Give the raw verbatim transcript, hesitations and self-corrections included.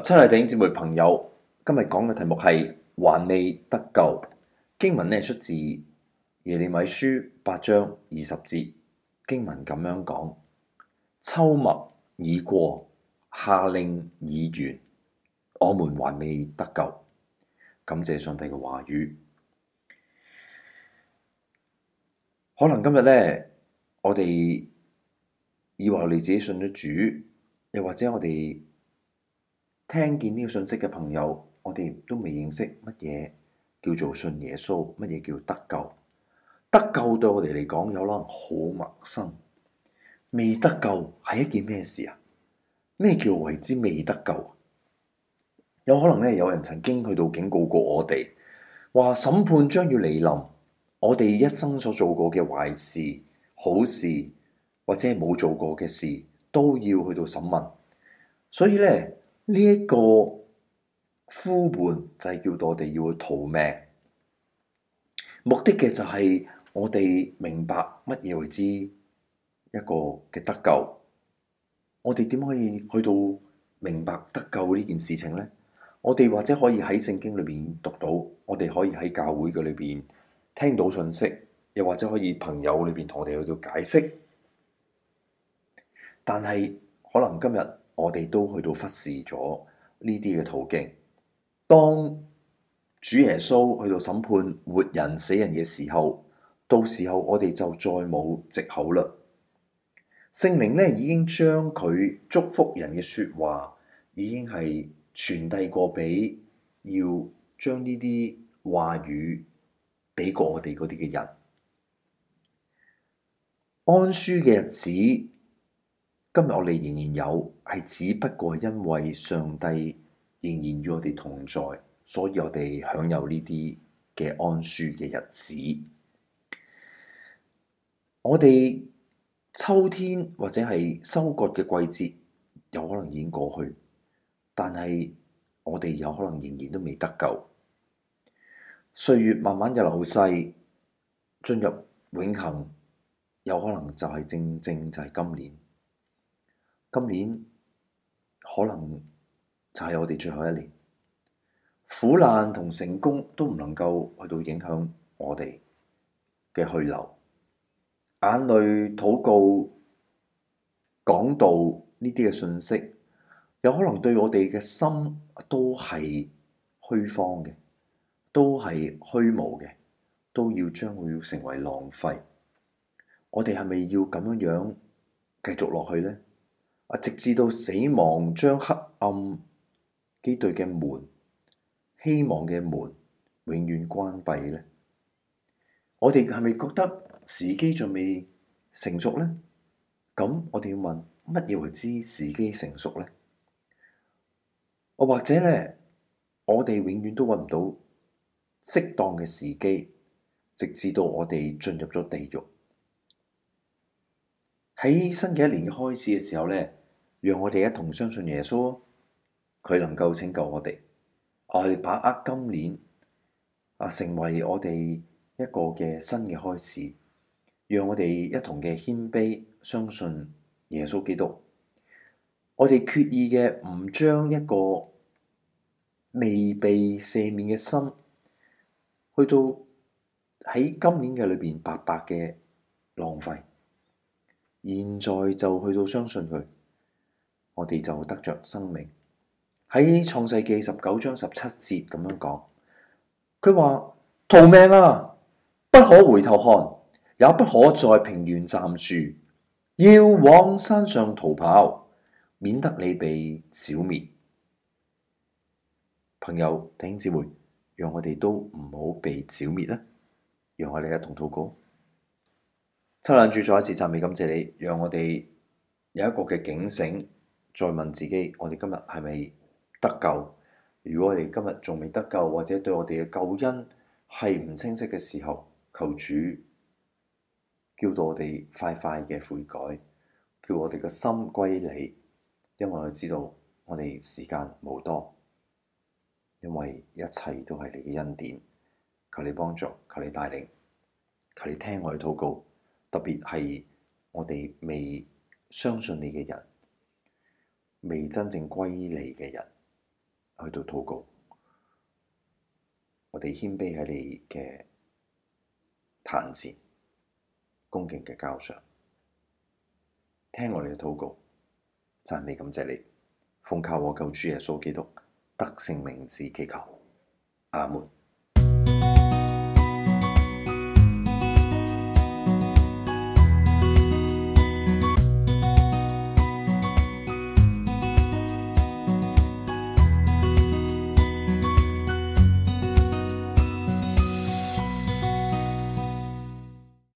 親愛弟兄姊妹朋友，今日講嘅題目係還未得救。經文呢出自耶利米書八章二十節，經文咁樣講：秋麥已過，夏令已完，我們還未得救。感謝上帝嘅話語。可能今日呢，我哋以為我哋自己信咗主，又或者我哋聽見呢個信息嘅朋友，我哋都未認識乜嘢叫做信耶穌，乜嘢叫得救。得救對我哋嚟講有可能好陌生。未得救係一件咩事啊？咩叫為之未得救？有可能咧，有人曾經去到警告過我哋，話審判將要嚟臨，我哋一生所做過嘅壞事、好事或者係冇做過嘅事，都要去到審問。所以咧，呢一個呼喚就係叫到我哋要去逃命，目的嘅就係我哋明白乜嘢為之一個嘅得救。我哋點可以去到明白得救呢件事情呢？我哋或者可以喺聖經裏邊讀到，我哋可以喺教會嘅裏邊聽到信息，又或者可以朋友裏邊同我哋去到解釋。但係可能今日我哋都去到忽視咗呢啲嘅途徑。當主耶穌去到審判活人死人嘅時候，到時候我哋就再冇藉口啦。聖靈咧已經將佢祝福人嘅說話，已經係傳遞過俾要將呢啲話語俾過我哋嗰啲嘅人。安舒嘅日子，今日我哋仍然有，係只不過因為上帝仍然與我哋同在，所以我哋享有呢啲嘅安舒嘅日子。我哋秋天或者係收割嘅季節有可能已經過去，但係我哋有可能仍然都未得救。歲月慢慢嘅流逝，進入永恆，有可能就係正正就係今年。今年可能就係我哋最後一年，苦難同成功都唔能夠去到影響我哋嘅去留。眼淚、禱告、講道呢啲嘅信息，有可能對我哋嘅心都係虛荒嘅，都係虛無嘅，都要將會要成為浪費。我哋係咪要咁樣樣繼續落去呢？啊，直至到死亡將黑暗基對嘅門、希望嘅門永遠關閉呢？我哋係咪覺得時機仲未成熟呢？咁我哋要問，乜嘢為之時機成熟呢？我或者咧，我哋永遠都揾唔到適當嘅時機，直至到我哋進入咗地獄。喺新嘅一年嘅開始嘅時候咧，讓我哋一同相信耶穌，佢能夠拯救我哋。我哋把握今年啊，成為我哋一個嘅新嘅開始，讓我哋一同嘅謙卑相信耶穌基督。我哋決意嘅唔將一個未被赦免嘅心，去到喺今年嘅裏邊白白嘅浪費。現在就去到相信佢，我哋就得着生命。喺創世記十九章十七節咁樣講，佢話：逃命啊！不可回頭看，也不可在平原站住，要往山上逃跑，免得你被剿滅。朋友弟兄姊妹，讓我哋都唔好被剿滅啦！讓我哋一同禱告。親愛的主，再一次讚美感謝你，讓我哋有一個嘅警醒，再問自己：我哋今日係咪得救？如果我哋今日仲未得救，或者對我哋嘅救恩係唔清晰嘅時候，求主叫到我哋快快嘅悔改，叫我哋嘅心歸你，因為我知道我哋時間無多，因為一切都係你嘅恩典。求你幫助，求你帶領，求你聽我哋禱告。特別係我哋未相信你嘅人，未真正歸你嘅人， 去到禱告，我哋謙卑喺你嘅壇前，恭敬嘅交上，聽我哋嘅禱告，讚美感謝你，奉靠我救主耶穌基督得勝名字祈求，阿門。